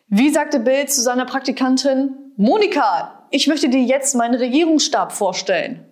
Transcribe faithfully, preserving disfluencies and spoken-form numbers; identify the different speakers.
Speaker 1: Wie sagte Bill zu seiner Praktikantin? Monika, ich möchte dir jetzt meinen Regierungsstab vorstellen.